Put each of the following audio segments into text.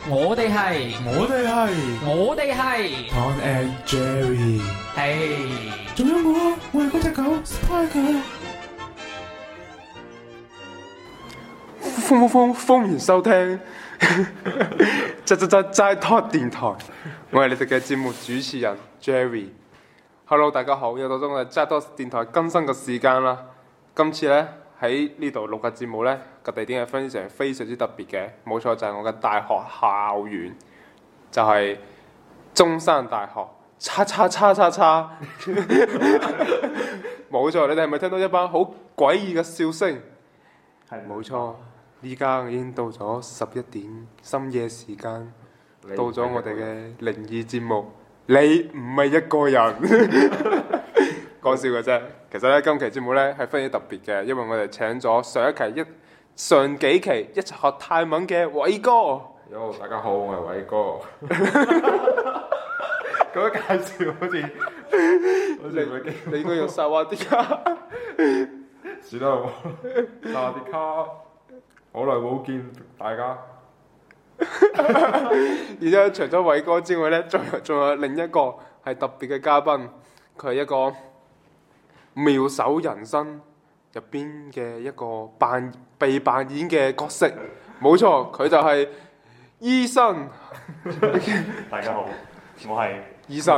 我哋係 Tom and Jerry， 係仲有我係嗰隻狗 Spider。歡迎收聽齋 talk 電台，我係你哋嘅節目主持人 Jerry。Hello， 大家好，又到咗我哋齋 talk 電台更新嘅時間啦。今次呢，喺呢度錄嘅節目呢，個地點係非常之特別嘅，冇錯就係我嘅大學校園，就係中山大學。冇錯，你哋係咪聽到一班好詭異嘅笑聲？係冇錯。依家已經到咗11點深夜時間，到咗我哋嘅靈異節目。你唔係一個人，講笑嘅啫。其實咧，今期節目咧係非常之特別嘅，因為我哋請咗上幾期一齊學泰文嘅偉哥。 Yo， 大家好，我係偉哥。咁樣介紹好似你應該用薩瓦迪卡。 算啦，薩瓦迪卡。好耐冇見大家， 然之後除咗偉哥之外呢，仲有另一個係特別嘅嘉賓，佢係一個妙手仁心入邊嘅一個被扮演嘅角色，冇錯，佢就係醫生。 大家好，我係醫生。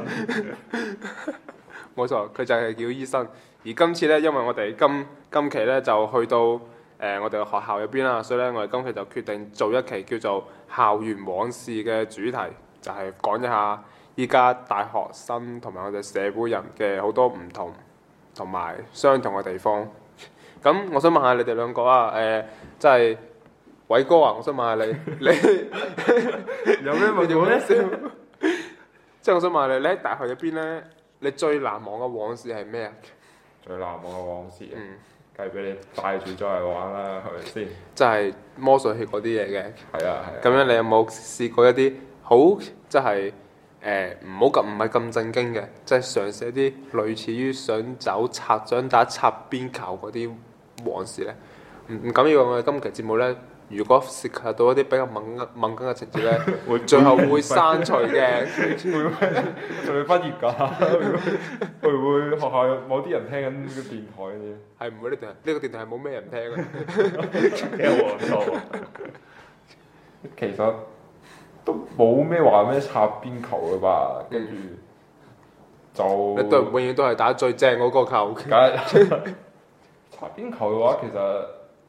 冇錯，佢就係叫醫生。而今次呢，因為我哋今期呢就去到我哋嘅學校入邊啦，所以咧我哋今期就決定做一期叫做校園往事嘅主題，就係講一下依家大學生同埋我哋社會人嘅好多唔同同埋相同嘅地方。咁我想問下你哋兩個啊，即係偉哥啊，我想問下你有咩問題咧？ 即係我想問下你喺大學入邊咧，你最難忘嘅往事係咩啊？ 最難忘嘅往事，梗係俾你帶住咗嚟玩啦，係咪先？ 即係魔術器嗰啲嘢嘅。 係啊。 咁樣你有冇試過一啲好即係唔係咁正經嘅，即係嘗試一啲類似於想打擦邊球嗰啲往事咧？唔緊要，我哋今期節目咧，如果涉及到一啲比較敏感嘅情節咧，最後會刪除嘅。 仲未畢業㗎？會唔會學校有某啲人聽緊呢個電台嘅嘢？ 係唔會，呢個電台係冇咩人聽嘅。 幾有黃錯。 其實都冇咩話咩擦邊球嘅吧，跟住就你永遠都係打最正嗰個球。 擦邊球嘅話，其實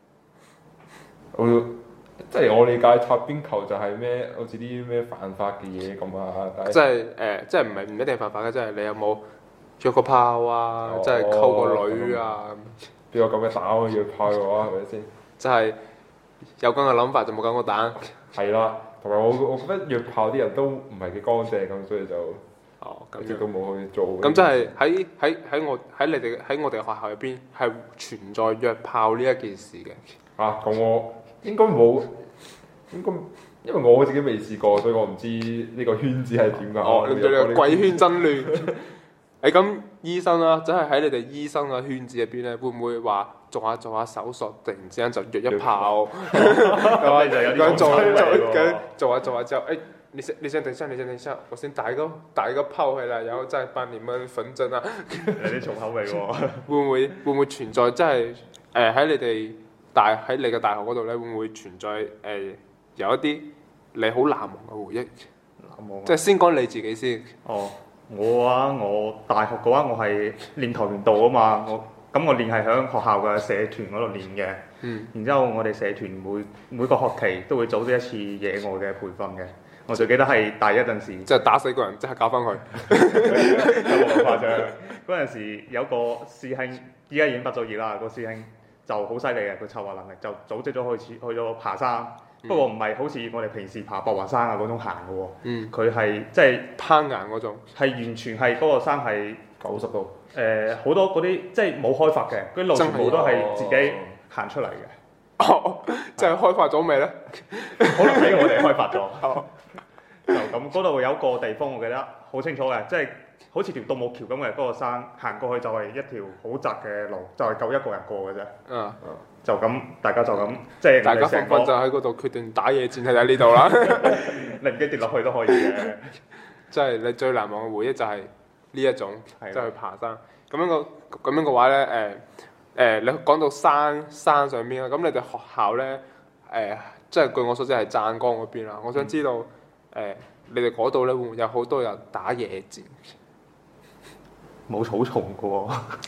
即係我理解擦邊球就係咩，好似啲咩犯法嘅嘢咁啊！ 即係唔一定犯法嘅，即係你有冇約個炮啊？即係溝個女啊？ 邊有咁嘅膽去約炮嘅話，係咪先？ 即係有咁嘅諗法就冇咁嘅膽。 係啦，同埋我覺得約炮啲人都唔係幾乾淨咁，所以就一直都冇去做。 咁即係喺我哋嘅學校入邊係存在約炮呢一件事嘅。 咁我應該冇，因為我自己未試過，所以我唔知呢個圈子係點㗎。 你對你個貴圈真亂。咁醫生啦，即係喺你哋醫生嘅圈子入邊咧，會唔會話做下手術，突然之間就約一炮？咁做下之後，你先等一下，我先打一個炮回來，然後再幫你們縫針啊！ 有啲重口味喎。 會唔會存在？即係喺你嘅大學嗰度咧，會唔會存在有一啲你好難忘嘅回憶？即係先講你自己先。 我大學嘅話，我係練跆拳道啊嘛，我練係喺學校嘅社團嗰度練嘅。然之後我哋社團每個學期都會組織一次野外嘅培訓嘅。我最記得係大一陣時， 即係打死個人，即刻搞翻佢。 有冇咁誇張？嗰陣時有個師兄，依家已經畢咗業啦。個師兄就好犀利嘅，佢策劃能力就組織咗去咗爬山。不過唔係好似我哋平時爬博華山啊嗰種行嘅喎。佢係即係攀岩嗰種， 係完全係嗰個山係 90度。 好多嗰啲即係冇開發嘅，嗰啲路全部都係自己行出嚟嘅。 即係開發咗未咧？ 可能俾我哋開發咗。就咁嗰度有一個地方，我記得好清楚嘅，即係好似條獨木橋咁嘅嗰個山，行過去就係一條好窄嘅路，就係夠一個人過嘅啫。 嗯， 就咁，大家就咁，即係大家紛紛就喺嗰度決定打野戰喺呢度啦。 你唔驚跌落去都可以嘅。 即係你最難忘嘅回憶就係呢一種， 係即係去爬山。咁樣嘅話咧，你講到山上邊啦，咁你哋學校咧，即係據我所知係湛江嗰邊啦。我想知道你哋嗰度咧會唔會有好多人打野戰？ 冇草叢嘅喎。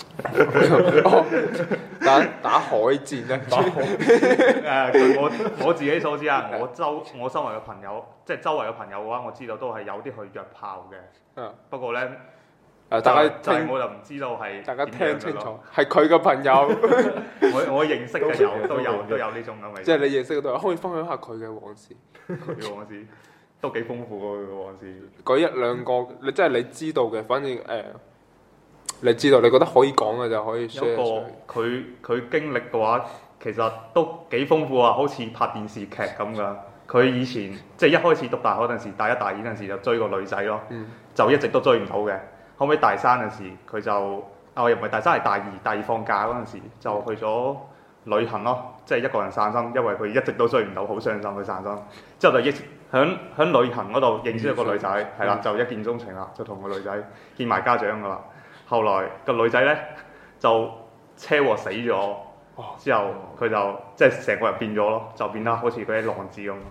打海戰咧？ 據我自己所知啊，我周圍嘅朋友，即係周圍嘅朋友嘅話，我知道都係有啲去約炮嘅。 嗯。 不過咧， 大家就係我就唔知道係大家點樣嘅聽清楚咯。， 係佢嘅朋友。 我認識嘅都有呢種咁嘅。 即係你認識嗰度，可以分享下佢嘅往事。 佢嘅往事都幾豐富喎，佢嘅往事。 嗰一兩個，你即係你知道嘅，反正你知道你覺得可以講嘅就可以有 share 個出嚟。 佢經歷嘅話，其實都幾豐富啊，好似拍電視劇咁噶。佢以前即係一開始讀大學嗰陣時，大一大二嗰陣時就追個女仔咯，就一直都追唔到嘅。後尾大三嗰陣時，佢就又唔係大三，係大二放假嗰陣時就去咗旅行咯，即係一個人散心，因為佢一直都追唔到，好傷心去散心。之後就響旅行嗰度認識咗個女仔，係啦，就一見鍾情啦，就同個女仔見埋家長噶啦。後來個女仔咧就車禍死咗，之後佢就即係成個人變咗咯，就變得好似嗰啲浪子咁。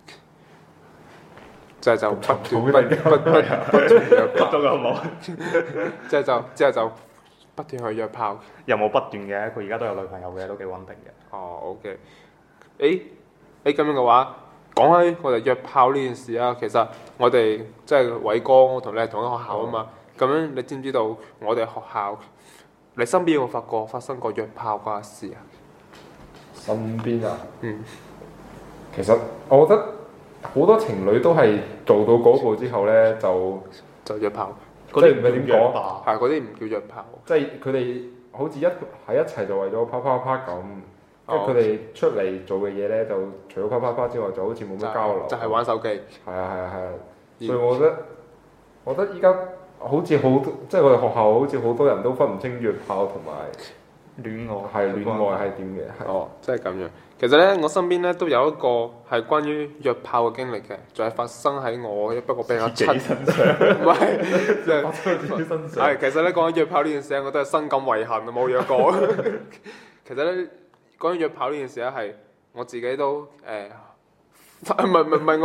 就不斷約炮， 咗個冇， 之後就不斷去約炮。 又冇不斷嘅，佢而家都有女朋友嘅，都幾穩定嘅。 哦，OK。咁樣嘅話，講起我哋約炮呢件事啊，其實我哋即係偉哥，我同你係同一學校啊嘛。咁樣你知唔知道我哋學校，你身邊有冇發生過約炮嗰事啊？ 身邊啊， 嗯， 其實我覺得好多情侶都係做到嗰步之後咧， 就約炮， 即係唔係點講？ 係嗰啲唔叫約炮， 即係佢哋好似喺一齊就為咗啪啪啪咁，跟住佢哋出嚟做嘅嘢咧，就除咗啪啪啪之外，就好似冇乜交流。 就係玩手機。 係啊，所以我覺得依家好似即係我哋學校好似好多人都分唔清約炮同埋戀愛係點嘅。 哦，即係咁樣。其實咧，我身邊咧都有一個係關於約炮嘅經歷嘅，就係發生喺我不過比較自己身上， 唔係，即係發生喺自己身上。 係其實咧講緊約炮呢件事，我都係深感遺憾啊，冇約過。其實咧講緊約炮呢件事咧，係我自己都唔係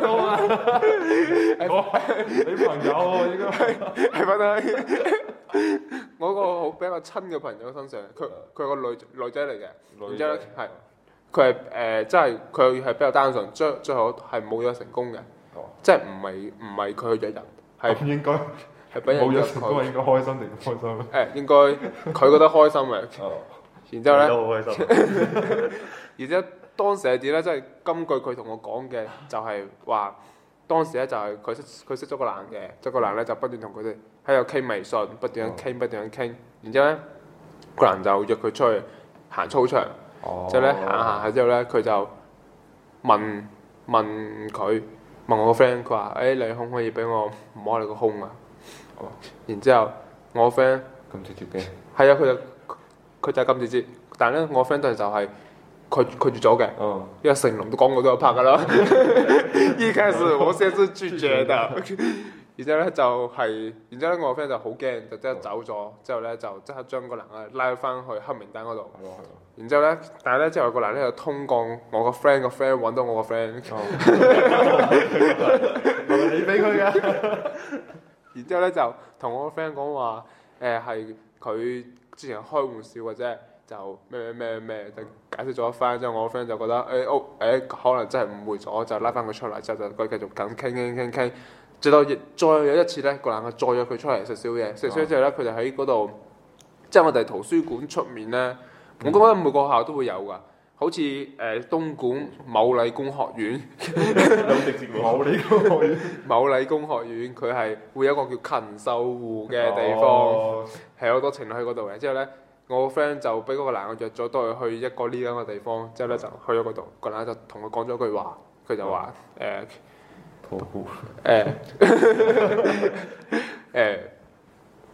我， 你朋友應該係發生喺我個好比較親嘅朋友身上。佢係個女仔嚟嘅，然之後咧係。佢係即係佢係比較單純，最後係冇約成功嘅，即係唔係佢去約人，係應該係俾人冇約約成功，應該開心定唔開心咧？ 應該佢覺得開心嘅，然之後咧， 都好開心。 然之後當時係點咧？即係根據佢同我講嘅，就係話當時咧就係佢識咗個男嘅，即係個男咧就不斷同佢哋喺度傾微信，不斷傾，然之後咧個男就約佢出去行操場。之後咧行下之後咧，佢就問我個 friend，佢話：你可唔可以俾我摸你個胸啊？然之後我個 friend 咁直接嘅。 係啊，佢就係咁直接，但係咧我個 friend 當時就係拒絕咗嘅，因為成龍都講過都有拍㗎啦。一開始我先是拒絕的。然之後咧然之後咧我個 friend 就好驚，就即刻走咗。之後咧就即刻將個男嘅拉翻去黑名單嗰度。然之後咧，但係咧之後個男咧就通過我個 friend 揾到我個 friend。 你俾佢嘅。 然之後咧就同我個 friend 講話，係佢之前開玩笑或者就咩，就解釋咗一番。之後我個 friend 就覺得可能真係誤會咗，就拉翻佢出嚟。之後就佢繼續咁傾。直到再有一次咧，個男嘅再約佢出嚟食宵夜。食宵夜之後咧，佢就喺嗰度，即係我哋圖書館出面咧。我覺得每個學校都會有㗎，好似東莞某理工學院，某理工學院佢係會有一個叫禽獸湖嘅地方，係好多情侶喺嗰度嘅。之後咧，我個 friend 就俾嗰個男嘅約咗都係去一個呢咁嘅地方，之後咧就去咗嗰度，個男就同佢講咗句話，佢就話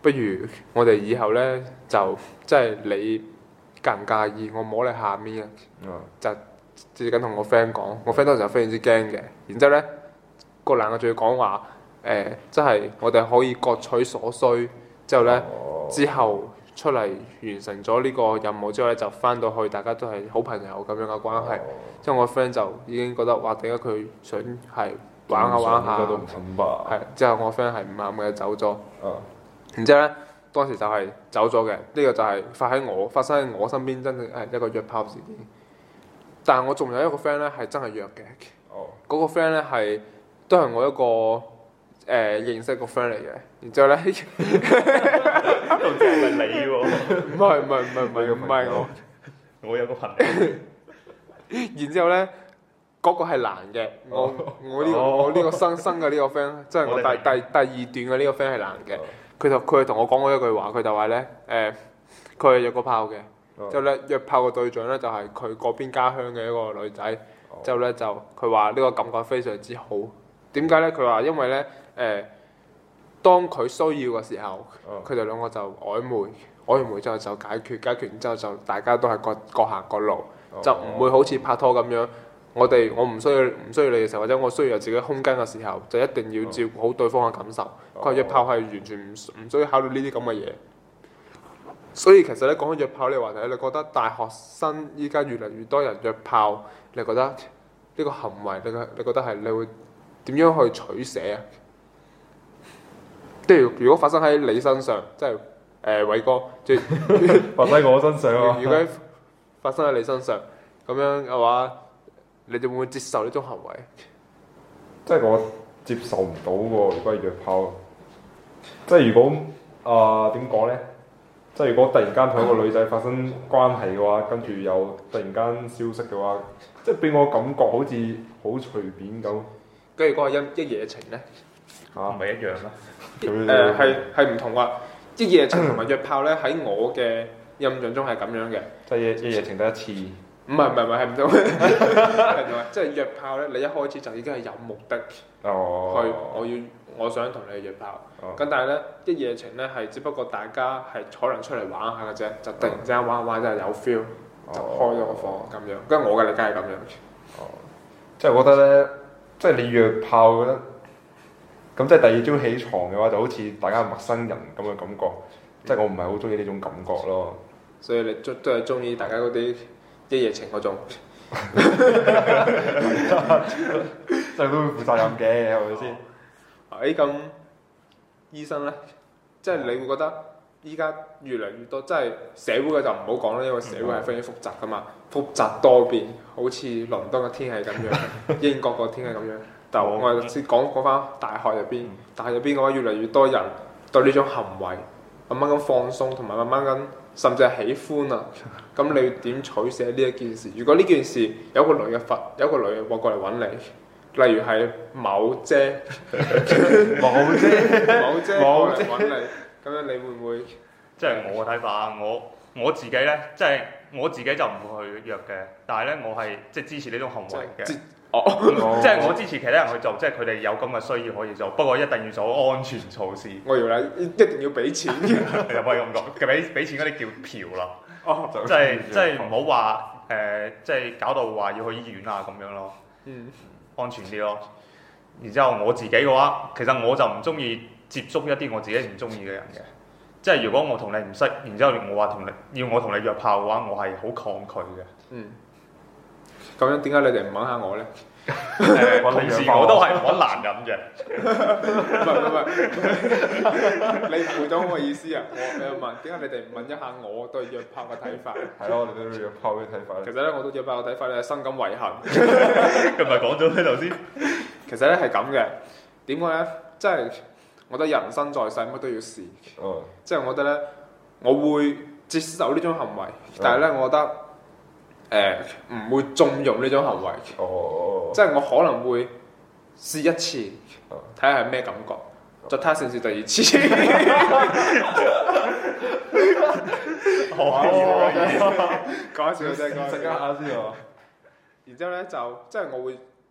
不如我哋以後咧就即係你介唔介意我摸你下面啊？就自己緊同我 friend 講，我 friend 當時就非常之驚嘅。然之後咧個男嘅仲要講話即係我哋可以各取所需。之後咧之後出嚟完成咗呢個任務之後咧，就翻到去大家都係好朋友咁樣嘅關係。之後我 friend 就已經覺得哇，點解佢想係玩下玩下？ 都唔肯吧？ 係之後我 friend 係唔啱嘅走咗。然之後咧，當時就係走咗嘅。呢個就係發生喺我身邊，真正係一個約炮事件。但係我仲有一個 friend 咧係真係約嘅。嗰個 friend 咧都係我一個認識個 friend 嚟嘅。然之後咧， 都唔知係咪你喎？ 唔係我。 我有個朋友。 然之後咧，嗰個係男嘅。我呢個新嘅呢個 friend，即係我第二段嘅呢個 friend 係男嘅。佢係同我講過一句話，佢就話咧佢係約過炮嘅。之後咧約炮嘅對象咧就係佢嗰邊家鄉嘅一個女仔。之後咧就佢話呢個感覺非常之好。點解咧？佢話因為咧當佢需要嘅時候，佢哋兩個就曖昧之後就解決完之後就大家都係各行各路，就唔會好似拍拖咁樣。我唔需要你嘅時候，或者我需要有自己空間嘅時候，就一定要照顧好對方嘅感受。佢話約炮係完全唔需要考慮呢啲咁嘅嘢。所以其實咧講起約炮呢個話題，你覺得大學生依家越嚟越多人約炮，你覺得呢個行為你覺得係你會點樣去取捨啊？即係如果發生喺你身上，即係偉哥，即係發生喺我身上啊！ 如果發生喺你身上咁樣嘅話，你哋會唔會接受呢種行為？ 即係我接受唔到喎，如果係約炮，即係如果點講咧？即係如果突然間同一個女仔發生關係嘅話，跟住又突然間消失嘅話，即係俾我感覺好似好隨便咁。 跟住嗰個一夜情咧， 唔係一樣啦。 係唔同㗎。一夜情同埋約炮咧，喺我嘅印象中係咁樣嘅。 即係一夜情得一次。 唔係係唔同。即係約炮咧，你一開始就已經係有目的我想同你約炮。咁但係咧，一夜情咧係只不過大家係可能出嚟玩下嘅啫，就突然之間玩真係有 feel，就開咗個房咁樣。跟住我嘅理解係咁樣。 即係我覺得咧，即係你約炮嘅咧，咁即係第二朝起床嘅話，就好似大家係陌生人咁嘅感覺。即係我唔係好中意呢種感覺咯。所以你都係中意大家嗰啲一夜情嗰種。即係都會負責任嘅，係咪先？ 咁醫生咧，即係你會覺得依家越嚟越多，即係社會嘅就唔好講啦，因為社會係非常之複雜噶嘛，複雜多變，好似倫敦嘅天氣咁樣，英國個天氣咁樣。但我哋先講翻大學入邊，大學入邊嘅話，越嚟越多人對呢種行為慢慢咁放鬆，同埋慢慢咁甚至係喜歡啊。咁你點取捨呢一件事？如果呢件事有個女嘅過嚟揾你？例如係某姐過嚟揾你，咁樣你會唔會？ 即係我嘅睇法，我自己咧，即係我自己就唔會去約嘅，但係咧我係即係支持呢種行為嘅。即係我支持其他人去做，即係佢哋有咁嘅需要可以做，不過一定要做安全措施。 我以為你一定要俾錢嘅， 又可以咁講，俾錢嗰啲叫嫖啦。即係唔好話即係搞到話要去醫院啊咁樣咯。安全啲咯。然之後我自己嘅話，其實我就唔中意接觸一啲我自己唔中意嘅人嘅。即係如果我同你唔識，然之後我話要我同你約炮嘅話，我係好抗拒嘅。 咁樣點解你哋唔揾下我咧？ 同時我都係唔揾男人嘅。 唔係，你誤會咗我嘅意思啊！我又問點解你哋唔問一下我對約炮嘅睇法？ 係咯，我哋對約炮嘅睇法。 其實咧，我對約炮嘅睇法咧係深感遺憾。 佢咪講咗喺頭先？ 其實咧係咁嘅，點解咧？即係我覺得人生在世乜都要試。即係我覺得咧，我會接受呢種行為，但係咧，我覺得。唔會縱容呢種行為，即係我可能會試一次，睇下係咩感覺，再睇下試唔試第二次。講笑啫，講笑。然之後咧就即係我會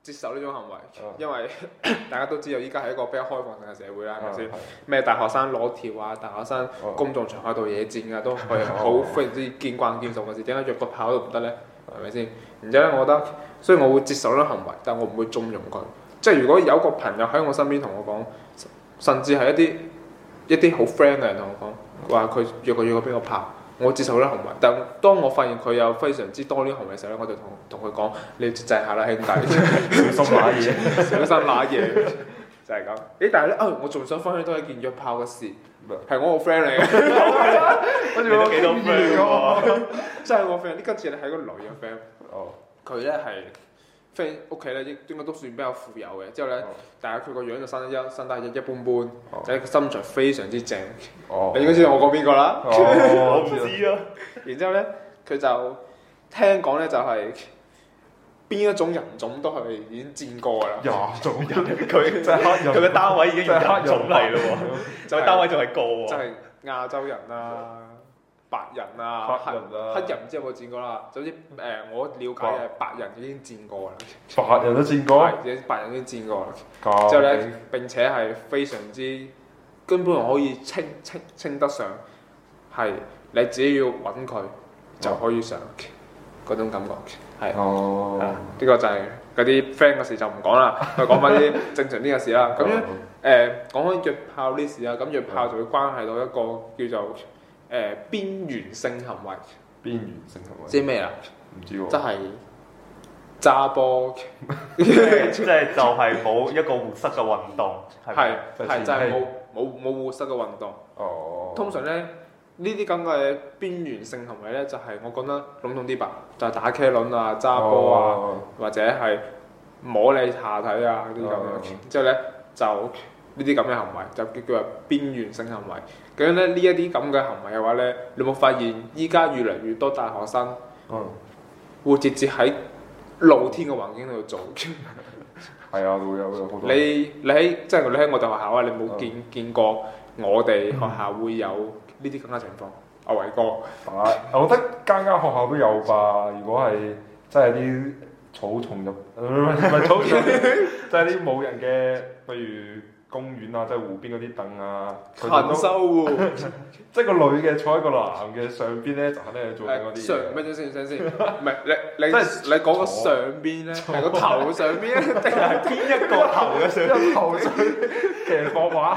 接受呢種行為， 嗯因為大家都知道依家係一個比較開放性嘅社會啦，係咪先係？ 咩大學生攞條啊，大學生公眾場合度野戰啊，都係好非常之見慣見熟嘅事。點解約個炮都唔得呢？係咪先？然之後咧，我覺得，所以我會接受呢種行為，但我唔會縱容佢。即係如果有個朋友喺我身邊同我講，甚至係一啲好 friend 嘅人同我講，話佢約個邊個炮。我接受呢行為，但當我發現佢有非常之多呢行為嘅時候咧，我就同佢講：你要節制下啦，兄弟， 小心揦嘢。 小心揦嘢，就係咁。但係咧，我仲想分享多一件約炮嘅事，係我個 friend 嚟嘅。 跟住都幾多 friend 喎， 真係我 friend。今次咧係個女嘅 friend， 哦， 佢咧係 friend 屋企咧應該都算比較富有嘅。之後咧，但係佢個樣就生得一般般，就係個身材非常之正。你應該知道我講邊個啦。 我唔知啊。 然之後咧，佢就聽講咧就係邊一種人種都係已經戰過㗎啦。 廿種人， 佢真係黑人， 佢嘅單位已經用人種嚟咯喎，就係單位仲係個喎。 就係亞洲人啊、白人啊、 黑人啊黑人唔知有冇戰過啦。總之我了解嘅白人已經戰過啦。 白人都戰過， 係，白人已經戰過啦。 之之後咧，並且係非常之根本可以稱得上係你只要揾佢就可以上嗰種感覺。係。 哦， 呢個就係嗰啲 friend 嘅事就唔講啦，我講翻啲正常啲嘅事啦。咁樣講開約炮呢事啊，咁約炮就會關係到一個叫做邊緣性行為。 邊緣性行為， 知咩啊？ 唔知喎， 即係揸波， 即係就係冇一個活塞嘅運動，係咪係就係冇活塞嘅運動。 哦， 通常咧呢啲咁嘅邊緣性行為咧，就係我覺得籠統啲吧，就係打茄輪啊、揸波啊，或者係摸你下體啊嗰啲咁樣。之後咧就呢啲咁嘅行為就叫做邊緣性行為。咁樣咧呢一啲咁嘅行為嘅話咧，你有冇發現依家越嚟越多大學生會直接喺露天嘅環境度做？ 係啊，會有好多。 你喺即係你喺我哋學校啊，你冇見過我哋學校會有呢啲咁嘅情況？阿偉哥， 我覺得間學校都有吧。如果係真係啲草叢入，唔係草叢，即係啲冇人嘅，譬如公園啊，即係湖邊嗰啲凳啊， 勤修喎， 即係個女嘅坐喺個男嘅上邊咧，就肯定係做緊嗰啲上嘢。 咩先？唔係你講個上邊咧，係個頭上邊咧，定係邊一個頭嘅上？ 一頭上騎膊馬，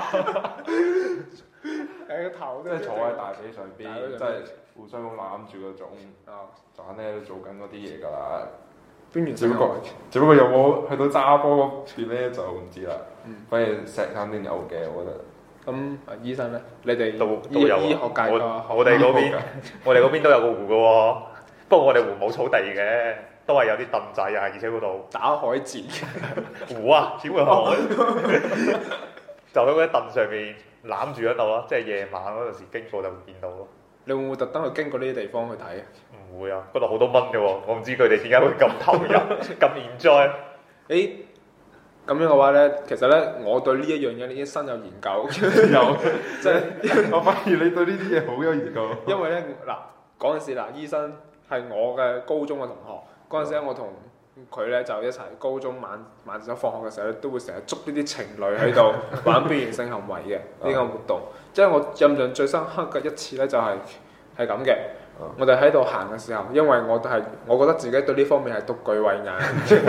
係個頭， 即係坐喺大髀上邊， 大髀上邊即係互相攬住嗰種，就肯定喺度做緊嗰啲嘢㗎啦。 邊緣只不過有冇去到揸波嗰邊咧就唔知啦。反而石肯定有嘅，我覺得。 咁醫生咧，你哋都有醫學界㗎， 我哋嗰邊都有個湖嘅喎，不過我哋湖冇草地嘅，都係有啲凳仔啊，而且嗰度打海戰湖啊，點會海？就喺嗰啲凳上面攬住喺度咯，即係夜晚嗰陣時經過就會見到咯。 你會唔會特登去經過呢啲地方去睇啊？ 唔會啊，嗰度好多蚊嘅喎，我唔知佢哋點解會咁投入、咁 enjoy。 咁樣嘅話咧，其實咧，我對呢一樣嘢已經深有研究，有即係我發現你對呢啲嘢好有研究。 因為咧嗱嗰陣時嗱，醫生係我嘅高中嘅同學，嗰陣時咧我同佢咧就一齊高中晚上放學嘅時候咧，都會成日捉呢啲情侶喺度玩邊緣性行為嘅呢個活動。即係我印象最深刻嘅一次咧，就係咁嘅。我哋喺度行嘅時候，因為我覺得自己對呢方面係獨具慧眼，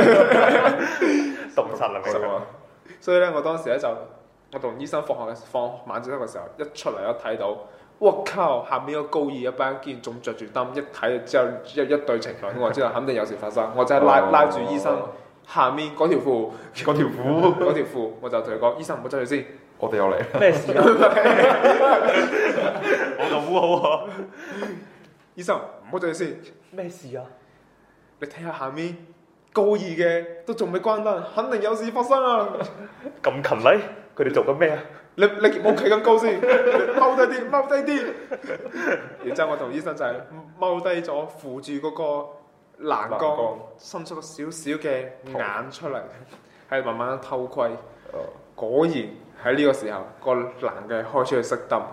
洞察能力啊！ 所以咧我當時咧就我同醫生放晚自習嘅時候，一出嚟一睇到，我靠！下面個高二一班竟然仲着住燈，一睇之後一對情侶，我知道肯定有事發生。我就係拉住醫生下面嗰條褲，我就同佢講：醫生唔好執住先， 我哋又嚟。 咩事啊？我就烏好啊！ 醫生唔好執住先。 咩事啊？ 你睇下下面高二嘅都仲未關燈，肯定有事發生啊！ 咁勤力，佢哋做緊咩啊？ 你冇企咁高先，踎低啲。然之後我同醫生就係踎低咗，扶住嗰個欄杆，伸出個少少嘅眼出嚟，係慢慢偷窺。果然喺呢個時候，個男嘅開始去熄燈。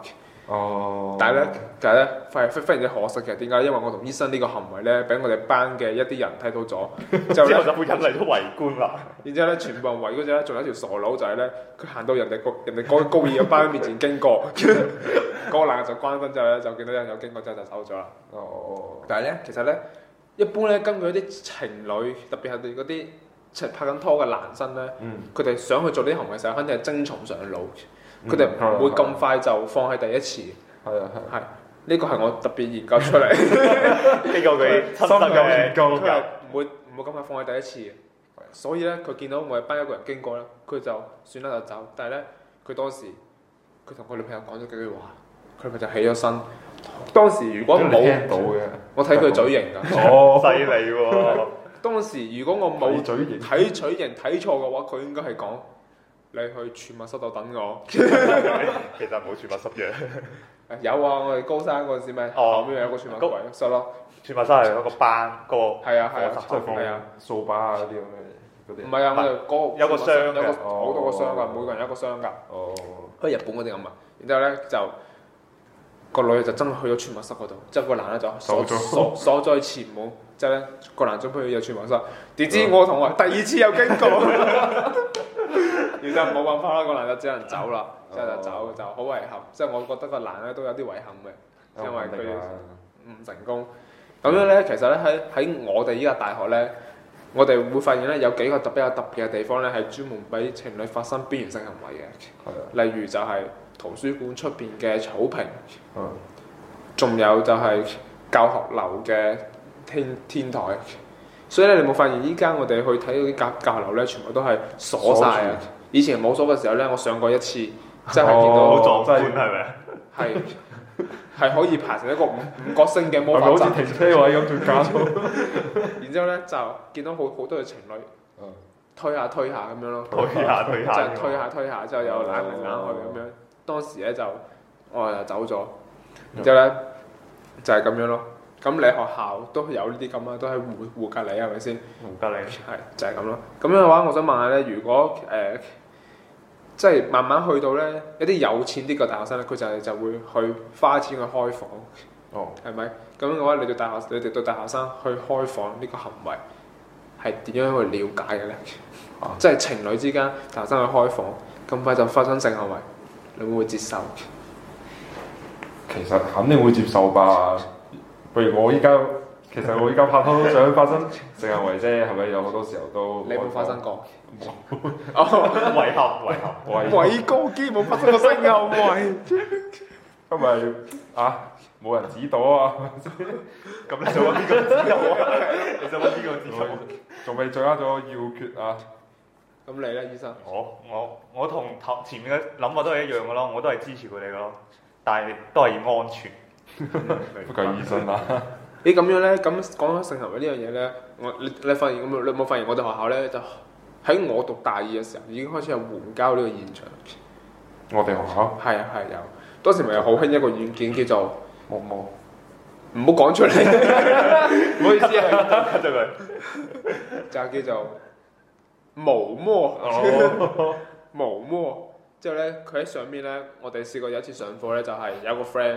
哦。 但係咧，非常之可惜嘅。點解？因為我同醫生呢個行為咧，俾我哋班嘅一啲人睇到咗， 之後就會引嚟咗圍觀啦。 然之後咧，全部人圍嗰陣咧，仲有一條傻佬就係咧，佢行到人哋高二嘅班面前經過，嗰個男就關燈之後咧，就見到有人有經過之後就走咗啦。 哦。 但係咧，其實咧，一般咧，根據一啲情侶，特別係嗰啲拍緊拖嘅男生咧，佢哋想去做呢啲行為嘅時候，肯定係精蟲上腦，佢哋唔會咁快就放喺第一次。 係啊係。 係呢個係我特別研究出嚟， 呢個佢親身嘅研究， 佢係唔會咁快放喺第一次嘅。所以咧，佢見到我哋班一個人經過咧，佢就算啦就走。但係咧，佢當時佢同佢女朋友講咗幾句話，佢咪就起咗身。當時如果冇聽到嘅， 我睇佢嘴型㗎。 哦，犀利喎！ 當時如果我冇嘴型睇嘴型睇錯嘅話，佢應該係講你去儲物室度等我。 其實冇儲物室嘅。 有啊，我哋高三嗰陣時咪後面有個儲物櫃室咯。 儲物室係嗰個班個。 係啊係啊， 即係放掃把啊嗰啲咁嘅嗰啲。 唔係啊，我哋嗰有個箱嘅， 有好多個箱㗎，每個人一個箱㗎。 哦。 好似日本嗰啲咁啊。然之後咧就個女就真係去咗儲物室嗰度，之後個男咧就鎖咗喺前門。之後咧個男準備去入儲物室，點知我同學第二次又經過，然之後冇辦法啦，個男就只能走啦。之後就走就好遺憾，即係我覺得個男咧都有啲遺憾嘅，因為佢唔成功。咁樣咧，其實咧喺我哋依家大學咧，我哋會發現咧有幾個比較特別嘅地方咧，係專門俾情侶發生邊緣性行為嘅。例如就係圖書館出邊嘅草坪，仲有就係教學樓嘅天台。所以咧，你冇發現依家我哋去睇嗰啲教學樓咧，全部都係鎖晒啊！以前冇鎖嘅時候咧，我上過一次。真係見到好壯觀係咪？ 係可以排成一個五角星嘅魔法陣， 好似停車位咁仲加到。 然之後咧就見到好多嘅情侶，推下咁樣咯， 推下， 即係推下之後又攬嚟攬去咁樣。當時咧就我就走咗，然之後咧就係咁樣咯。咁你學校都有呢啲咁啊，都係互隔離係咪先？ 互隔離係就係咁咯。咁樣嘅話，我想問下咧，如果即係慢慢去到咧，一啲有錢啲嘅大學生咧，佢就會去花錢去開房，係咪？咁樣嘅話，你哋對大學生去開房呢個行為係點樣去了解嘅咧？即係情侶之間大學生去開房，咁快就發生性行為，你會唔會接受？ 其實肯定會接受吧。譬如我依家拍拖都想發生性行為啫，係咪？有好多時候都你有冇發生過？ 遺憾。 偉哥基冇發生過性行為， 因為冇人指導啊。 咁你做咗邊個指導啊？你做咗邊個指導？ 仲未掌握咗要訣啊！ 咁你咧，醫生？ 我同前面嘅諗法都係一樣嘅咯，我都係支持佢哋嘅咯，但係都係要安全。 不計醫生啦。 你咁樣咧，咁講起性行為呢樣嘢咧，你發現咁，你有冇發現我哋學校咧就喺我讀大二嘅時候已經開始有援交呢個現象。 我哋學校係有，當時咪有好興一個軟件叫做毛毛， 唔好講出嚟，唔好意思啊， cut咗佢， 就叫做毛摸，毛摸。之後咧，佢喺上面咧，我哋試過有一次上課咧，就係有個 friend。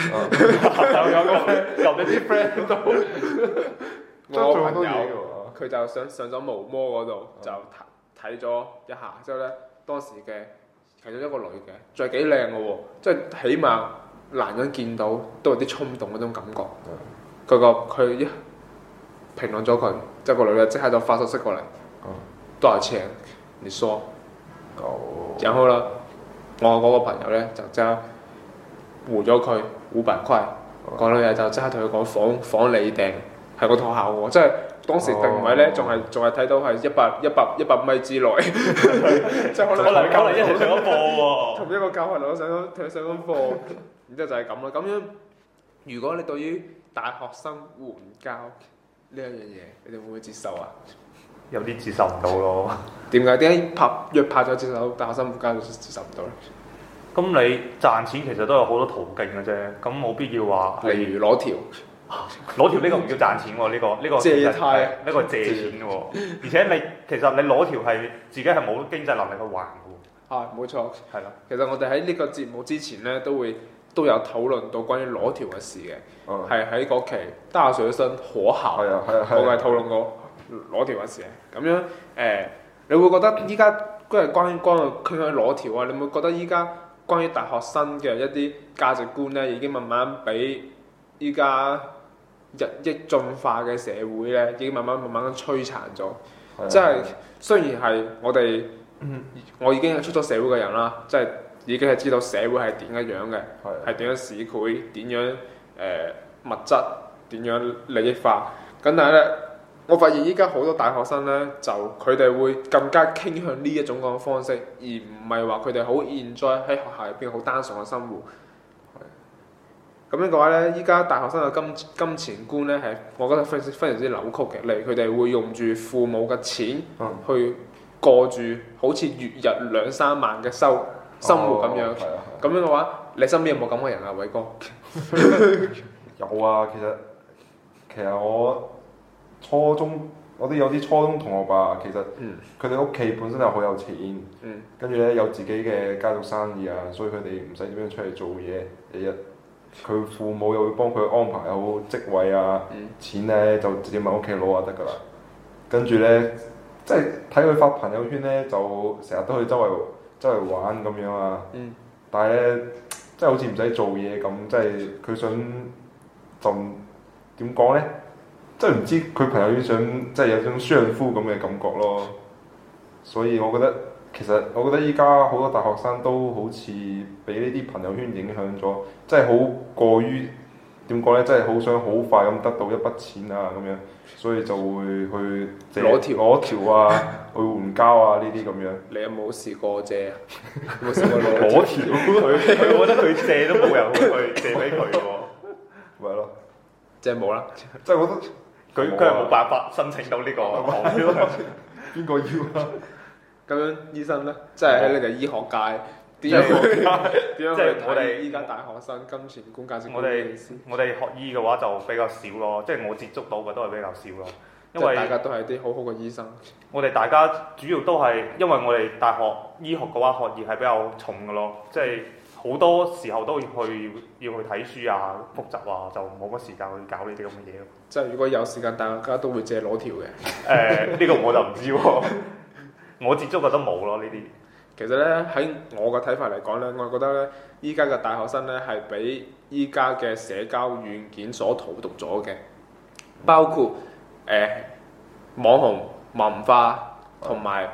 有啲 friend 都我朋友佢就上咗毛摸嗰度就睇咗一下，之後咧當時嘅其中一個女嘅，仲係幾靚嘅喎，即係起碼男人見到都有啲衝動嗰種感覺。佢一評論咗佢，即係個女嘅即刻就發信息過嚟，多少錢？你說。然後啦，我嗰個朋友咧就即刻回咗佢500塊，個女嘅就即刻同佢講房你訂，係個學校喎，即係當時定位咧仲係睇到係100米之內，即係可能一齊上咗課喎， 同一個教學樓上緊課，然之後就係咁啦。咁樣如果你對於大學生援交呢一樣嘢，你哋會唔會接受啊？ 有啲接受唔到咯。點解約拍咗接受大學生援交就接受唔到咧？ 咁你賺錢其實都有好多途徑嘅啫，咁冇必要話例如攞條呢個唔叫賺錢喎，呢個借貸， 呢個借錢喎，而且其實你攞條係自己係冇經濟能力去還嘅喎。 冇錯，係啦。其實我哋喺呢個節目之前咧都會都有討論到關於裸條嘅事嘅， 嗯係喺嗰期大學生可校， 係啊係啊係啊我係討論過裸條嘅事嘅。咁樣你會覺得依家嗰係關於傾向裸條啊？你會覺得依家關於大學生嘅一啲價值觀咧，已經慢慢俾依家日益進化嘅社會咧，已經慢慢咁摧殘咗。即係雖然係我已經係出咗社會嘅人啦，即係已經係知道社會係點嘅樣嘅，係點樣市儈，點樣物質，點樣利益化。咁但係咧，我發現依家好多大學生咧，就佢哋會更加傾向呢一種咁嘅方式，而唔係話佢哋好 enjoy 喺學校入邊好單純嘅生活。咁樣嘅話咧，依家大學生嘅金錢觀咧係，我覺得非常之扭曲嘅。例如佢哋會用住父母嘅錢去過住好似月入2-3萬嘅生活咁樣。咁樣嘅話，你身邊有冇咁嘅人啊，偉哥？ 有啊，其實我初中我都有啲初中同學吧，其實佢哋屋企本身就好有錢，跟住咧有自己嘅家族生意啊，所以佢哋唔使點樣出嚟做嘢，日日佢父母又會幫佢安排好職位啊，錢咧就直接問屋企攞就得㗎啦。跟住咧，即係睇佢發朋友圈咧，就成日都去周圍玩咁樣啊。但係咧，即係好似唔使做嘢咁，即係佢想就點講咧？即係唔知佢朋友圈想即係有種相夫咁嘅感覺咯。所以我覺得依家好多大學生都好似俾呢啲朋友圈影響咗，即係好過於點講咧？即係好想好快咁得到一筆錢啊咁樣，所以就會去攞條啊，去援交啊呢啲咁樣。 你有冇試過借啊？有冇試過攞條？ 佢我覺得佢借都冇人去借俾佢喎。 咪係咯， 即係冇啦。 即係我覺得佢係冇辦法申請到呢個項標。 邊個要啊？ 咁樣醫生咧，即係喺你哋醫學界點樣去睇依家大學生金錢觀價值觀嘅意思？ 我哋學醫嘅話就比較少咯，即係我接觸到嘅都係比較少咯。因為大家都係啲好好嘅醫生。 我哋大家主要都係因為我哋大學醫學嘅話，學業係比較重嘅咯，即係好多時候都要去睇書啊、複習啊，就冇乜時間去搞呢啲咁嘅嘢咯。 即係如果有時間，大家都會借攞條嘅。 呢個我就唔知喎。我接觸嘅都冇咯呢啲。 其實咧喺我嘅睇法嚟講咧，我覺得咧依家嘅大學生咧係俾依家嘅社交軟件所荼毒咗嘅，包括網紅文化同埋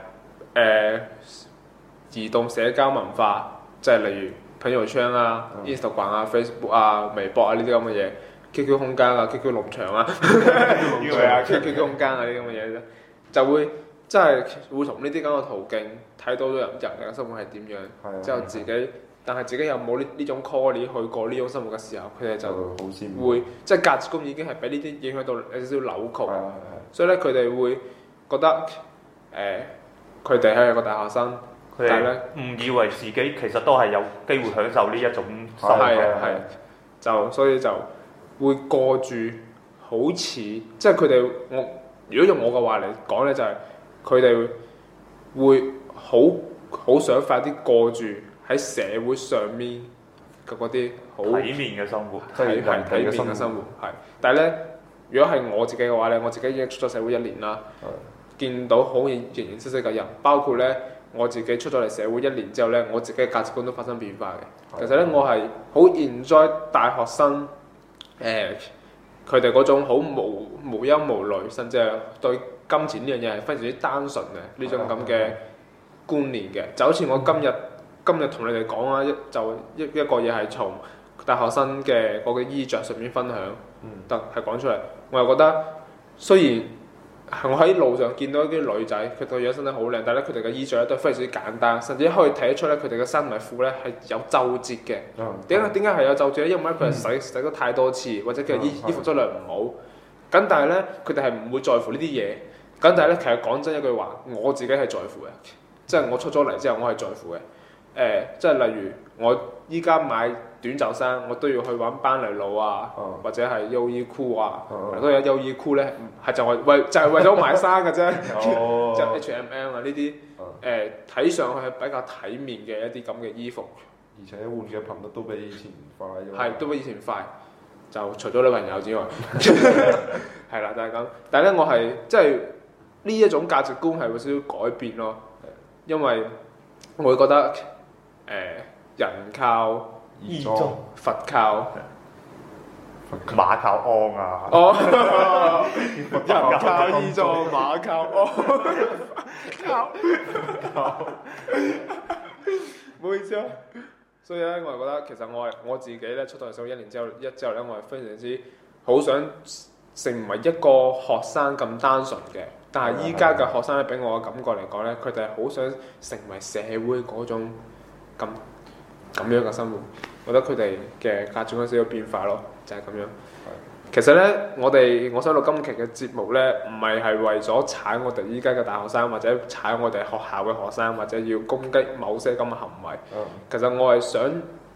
移動社交文化，即係例如朋友圈啊、Instagram 啊、Facebook 啊、微博啊呢啲咁嘅嘢，QQ 空間啊、QQ 農場啊，QQ 空間啊呢啲咁嘅嘢咧，就會。即係會從呢啲咁嘅途徑睇到人嘅生活係點樣，之後自己，但係自己又冇呢種 call 去過呢種生活嘅時候，佢哋就會即係價值觀已經係俾呢啲影響到有少少扭曲，所以咧佢哋會覺得佢哋係一個大學生，但係咧誤以為自己其實都係有機會享受呢一種生活， 就所以就會過住好似即係佢哋如果用我嘅話嚟講咧就係。佢哋會好想快啲過住喺社會上面嘅嗰啲好體面嘅生活， 體面嘅生活係。但係咧，如果係我自己嘅話咧，我自己已經出咗社會1年啦，見到好形形色色嘅人，包括咧我自己出咗嚟社會1年之後咧，我自己嘅價值觀都發生變化嘅。其實咧，我係好 enjoy 大學生佢哋嗰種好無憂無慮，甚至係對金錢呢樣嘢係非常之單純嘅呢種咁嘅觀念嘅，就好似我今日同你哋講啊，一個嘢係從大學生嘅嗰個衣着上面分享，係講出嚟，我又覺得雖然我喺路上見到一啲女仔，佢哋樣身體好靚，但係咧佢哋嘅衣着咧都非常之簡單，甚至可以睇得出咧佢哋嘅衫同埋褲咧係有皺褶嘅。點解係有皺褶咧？因為佢係洗咗太多次，或者佢衣服質量唔好。咁但係咧，佢哋係唔會在乎呢啲嘢。咁但係咧，其實講真一句話，我自己係在乎嘅，即係我出咗嚟之後，我係在乎嘅。即係例如我依家買短袖衫，我都要去揾班尼路啊，或者係優衣庫啊，都有優衣庫咧，就係為咗買衫嘅啫，就 H&M 啊呢啲，睇上去係比較體面嘅一啲咁嘅衣服， 而且換嘅頻率都比以前快咗。 係都比以前快，就除咗女朋友之外，係啦，就係咁。但係咧，我係即係呢一種價值觀係會少少改變咯，因為我會覺得人靠義裝， 佛靠馬靠鞍啊！ 哦，人靠義裝，馬靠靠，唔好意思啊。所以咧，我係覺得其實我自己咧出到嚟社會1年之後咧，我係非常之好想成為一個學生咁單純嘅。但係依家嘅學生咧，俾我嘅感覺嚟講咧，佢哋係好想成為社會嗰種咁樣嘅生活。我覺得佢哋嘅價值觀有少少變化咯，就係咁樣。其實咧，我想錄今期嘅節目咧，唔係為咗踩我哋依家嘅大學生，或者踩我哋學校嘅學生，或者要攻擊某些咁嘅行為。其實我係想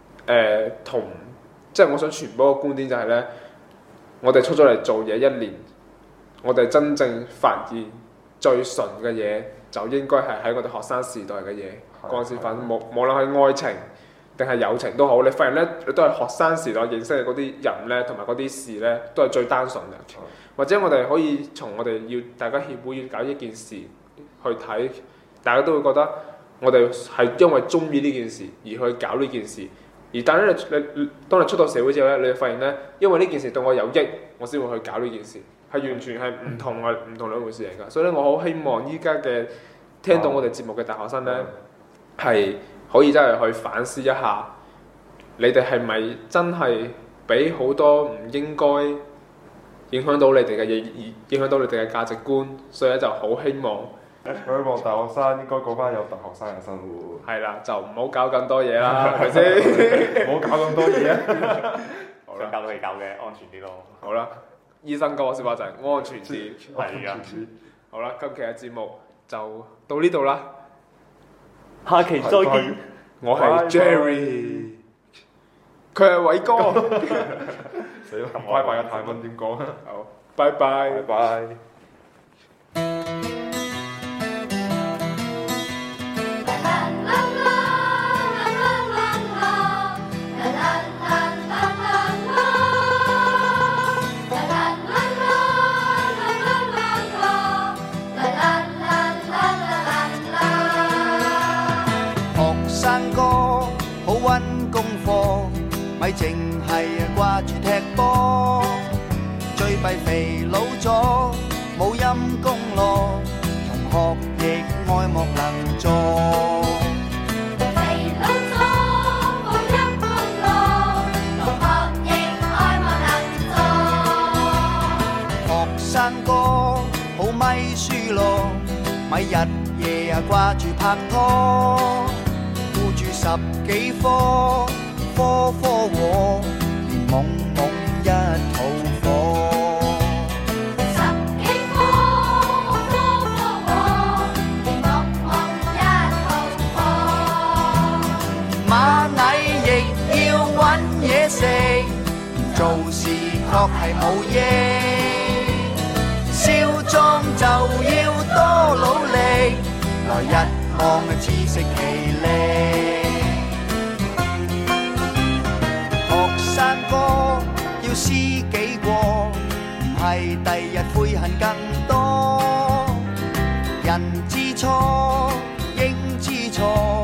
即係我想傳播個觀點就係咧，我哋出咗嚟做嘢1年，我哋真正發現最純嘅嘢，就應該係喺我哋學生時代嘅嘢嗰陣時發生，無論係愛情定係友情都好，你發現咧，你都係學生時代認識嘅嗰啲人咧，同埋嗰啲事咧，都係最單純嘅。或者我哋可以從我哋要大家協會要搞一件事去睇，大家都會覺得我哋係因為中意呢件事而去搞呢件事。而但係咧，你當你出到社會之後咧，你就發現咧，因為呢件事對我有益，我先會去搞呢件事，係完全係唔同兩回事嚟㗎。所以咧，我好希望依家嘅聽到我哋節目嘅大學生咧，係可以真係去反思一下，你哋係咪真係俾好多唔應該影響到你哋嘅嘢，而影響到你哋嘅價值觀？所以咧就好希望， 希望大學生應該過翻有大學生嘅生活。 係啦，就唔好搞咁多嘢啦，係咪先？ 唔好搞咁多嘢啊！ 好啦， 搞到你搞嘅安全啲咯。 好啦，醫生講嘅説話就係安全啲。 係啊， 好啦，今期嘅節目就到呢度啦。 下期再見。 我係 Jerry，佢係偉哥。 死啦！拜拜嘅泰文點講啊？ 好，拜拜。 拜拜。 咪淨係掛住踢波，最弊肥佬咗，冇陰功咯，同學亦愛莫能助。肥佬咗，冇陰功咯，同學亦愛莫能助。學生哥好咪輸咯，咪日夜掛住拍拖，顧住10幾科。科科和，連懵懵一肚火。10幾科，科科和，連懵懵一肚火。螞蟻亦要搵嘢食，做事確係冇益。少壯就要多努力，來日望自食其力。學生哥要知己過，唔係第日悔恨更多。人知錯，應知錯。